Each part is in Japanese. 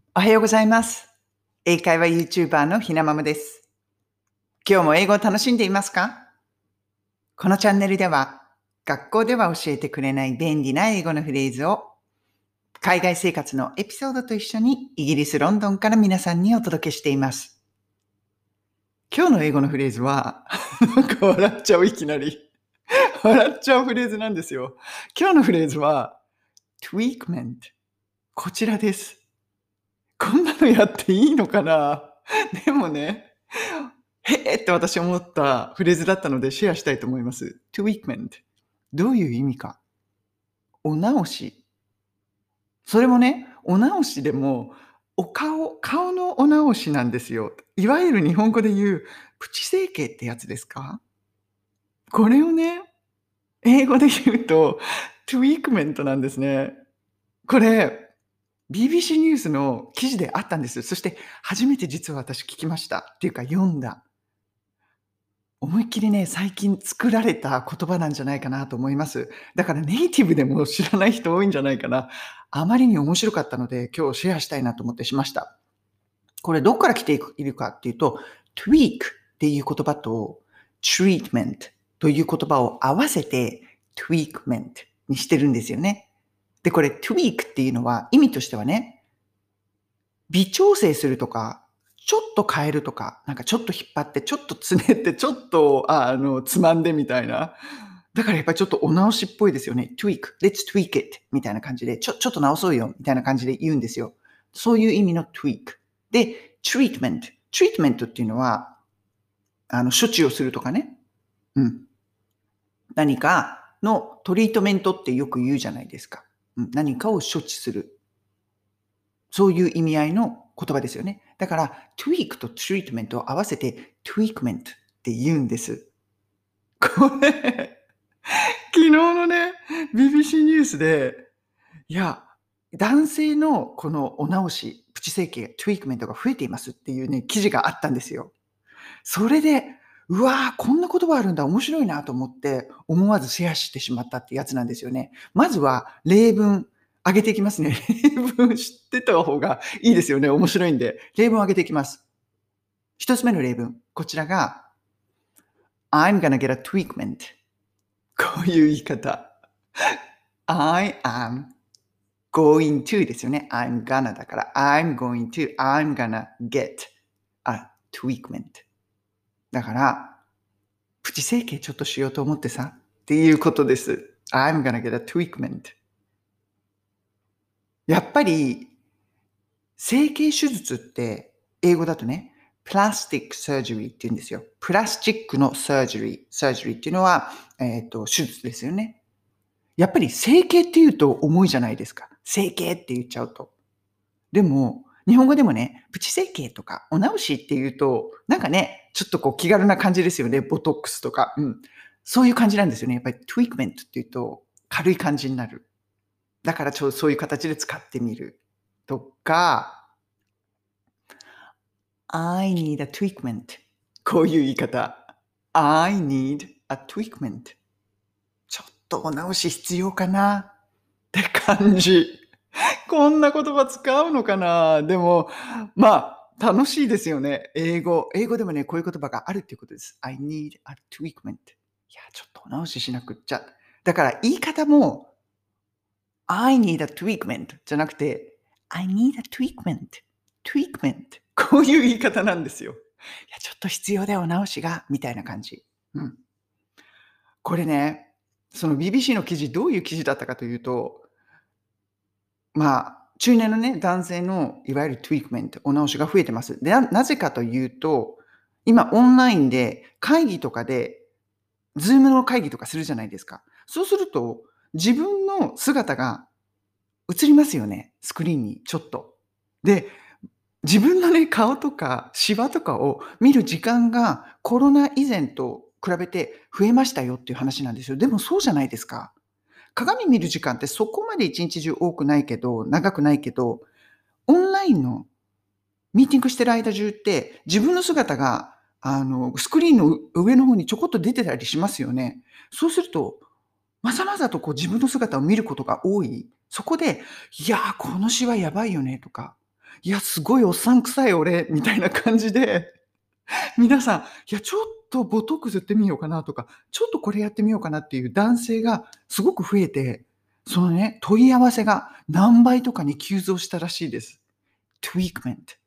おはようございます。英会話 YouTuber のひなまむです。今日も英語を楽しんでいますか？このチャンネルでは、学校では教えてくれない便利な英語のフレーズを、海外生活のエピソードと一緒にイギリス・ロンドンから皆さんにお届けしています。今日の英語のフレーズは、なんか笑っちゃう、いきなり。笑っちゃうフレーズなんですよ。今日のフレーズは、tweakment。こちらです。こんなのやっていいのかな？でもね、へえって私思ったフレーズだったのでシェアしたいと思います。tweakment。どういう意味か。お直し。それもね、お直しでも、顔のお直しなんですよ。いわゆる日本語で言うプチ整形ってやつですか？これをね、英語で言うと、tweakment なんですね。これ、BBC ニュースの記事であったんです。そして初めて実は私聞きました。っていうか読んだ。思いっきりね、最近作られた言葉なんじゃないかなと思います。だからネイティブでも知らない人多いんじゃないかな。あまりに面白かったので、今日シェアしたいなと思ってしました。これどこから来ているかっていうと、tweak っていう言葉と treatment という言葉を合わせて tweakment にしてるんですよね。で、これ tweak っていうのは意味としてはね、微調整するとか、ちょっと変えるとか、なんかちょっと引っ張って、ちょっとつねって、ちょっとつまんでみたいな。だからやっぱりちょっとお直しっぽいですよね。let's tweak it みたいな感じで、ちょっと直そうよみたいな感じで言うんですよ。そういう意味の tweak。で、treatment っていうのは、処置をするとかね。うん。何かのトリートメントってよく言うじゃないですか。うん、何かを処置する。そういう意味合いの言葉ですよね。だから、tweak と treatment を合わせて tweakment って言うんです。これ、昨日のね、BBC ニュースで、いや、男性のこのお直し、プチ整形、tweakment が増えていますっていうね、記事があったんですよ。それで、うわー、こんな言葉あるんだ、面白いなと思って、思わずシェアしてしまったってやつなんですよね。まずは例文上げていきますね。例文知ってた方がいいですよね。面白いんで。例文上げていきます。一つ目の例文。こちらが、I'm gonna get a tweakment. こういう言い方。I am going to ですよね。I'm gonna だから、I'm gonna get a tweakment. だから、プチ整形ちょっとしようと思ってさ、っていうことです。I'm gonna get a tweakment. やっぱり、整形手術って、英語だとね、プラスティックサージュリーって言うんですよ。プラスチックのサージュリー。サージュリーっていうのは、手術ですよね。やっぱり整形って言うと重いじゃないですか。整形って言っちゃうと。でも、日本語でもね、プチ整形とかお直しって言うと、なんかね、ちょっとこう気軽な感じですよね。ボトックスとか。うん。そういう感じなんですよね。やっぱりトゥイークメントって言うと軽い感じになる。だからそういう形で使ってみる。とか、I need a tweakment. こういう言い方。I need a tweakment. ちょっとお直し必要かなって感じ。こんな言葉使うのかな？でも、楽しいですよね。英語でもね、こういう言葉があるっていうことです。I need a tweakment. いや、ちょっとお直ししなくっちゃ。だから言い方も、I need a tweakment じゃなくて、I need a tweakment. こういう言い方なんですよ。いや、ちょっと必要だよ、お直しが、みたいな感じ。うん。これね、その BBC の記事、どういう記事だったかというと、中年のね、男性のいわゆるトゥイークメント、お直しが増えてます。で、なぜかというと、今オンラインで会議とかで、ズームの会議とかするじゃないですか。そうすると、自分の姿が映りますよね、スクリーンにちょっと。で、自分のね、顔とかシワとかを見る時間がコロナ以前と比べて増えましたよっていう話なんですよ。でもそうじゃないですか。鏡見る時間ってそこまで一日中多くないけど、長くないけど、オンラインのミーティングしてる間中って、自分の姿が、スクリーンの上の方にちょこっと出てたりしますよね。そうすると、まざまざとこう自分の姿を見ることが多い。そこで、いやー、このシワやばいよねとか、 いや、すごいおっさん臭い俺、みたいな感じで、皆さん、いや、ちょっとボトックス打ってみようかなとか、ちょっとこれやってみようかなっていう男性がすごく増えて、そのね、問い合わせが何倍とかに急増したらしいです。トゥイークメント。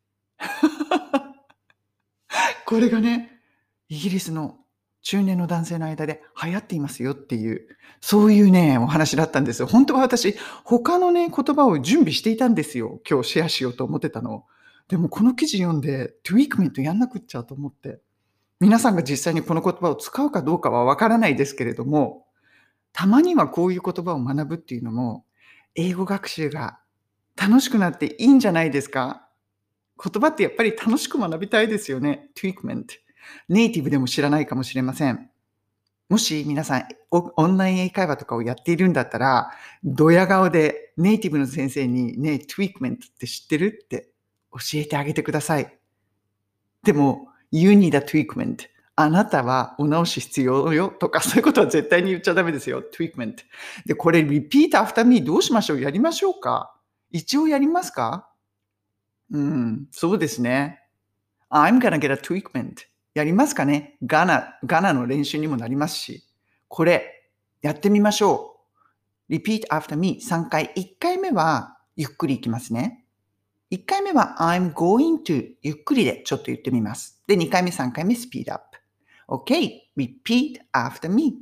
これがね、イギリスの中年の男性の間で流行っていますよっていう、そういうね、お話だったんですよ。本当は私、他のね、言葉を準備していたんですよ。今日シェアしようと思ってたの。でもこの記事読んで、トゥイークメントやんなくっちゃと思って。皆さんが実際にこの言葉を使うかどうかはわからないですけれども、たまにはこういう言葉を学ぶっていうのも、英語学習が楽しくなっていいんじゃないですか？言葉ってやっぱり楽しく学びたいですよね。treatment。ネイティブでも知らないかもしれません。もし皆さん、オンライン英会話とかをやっているんだったら、ドヤ顔でネイティブの先生にね、treatment って知ってるって教えてあげてください。でも、you need a treatment。あなたはお直し必要よとか、そういうことは絶対に言っちゃダメですよ。treatment。で、これ repeat after me どうしましょう？やりましょうか？一応やりますか？そうですね。I'm gonna get a treatment. やりますかね？ガナの練習にもなりますし。これ、やってみましょう。repeat after me 3回。1回目はゆっくりいきますね。1回目は I'm going to ゆっくりでちょっと言ってみます。で、2回目、3回目 speed up. Okay, repeat after me.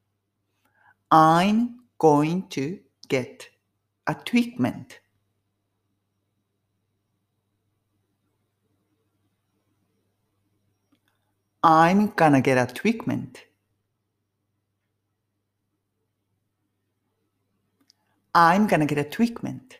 I'm going to get a treatment. I'm gonna get a treatment. I'm gonna get a treatment.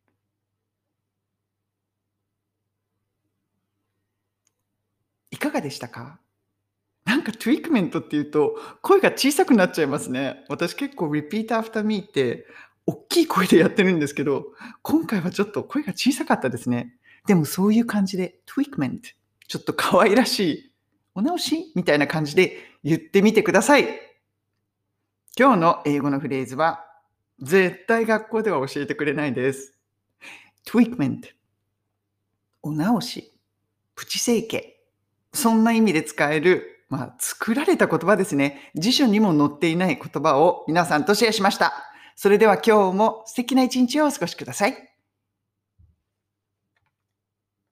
いかがでしたか？なんかトゥイックメントっていうと、声が小さくなっちゃいますね。私結構 repeat after me って、大きい声でやってるんですけど、今回はちょっと声が小さかったですね。でもそういう感じで、トゥイックメント、ちょっと可愛らしい、お直しみたいな感じで言ってみてください。今日の英語のフレーズは、絶対学校では教えてくれないです。トゥイックメント、お直し、プチ整形。そんな意味で使える、作られた言葉ですね。辞書にも載っていない言葉を皆さんとシェアしました。それでは今日も素敵な一日をお過ごしください。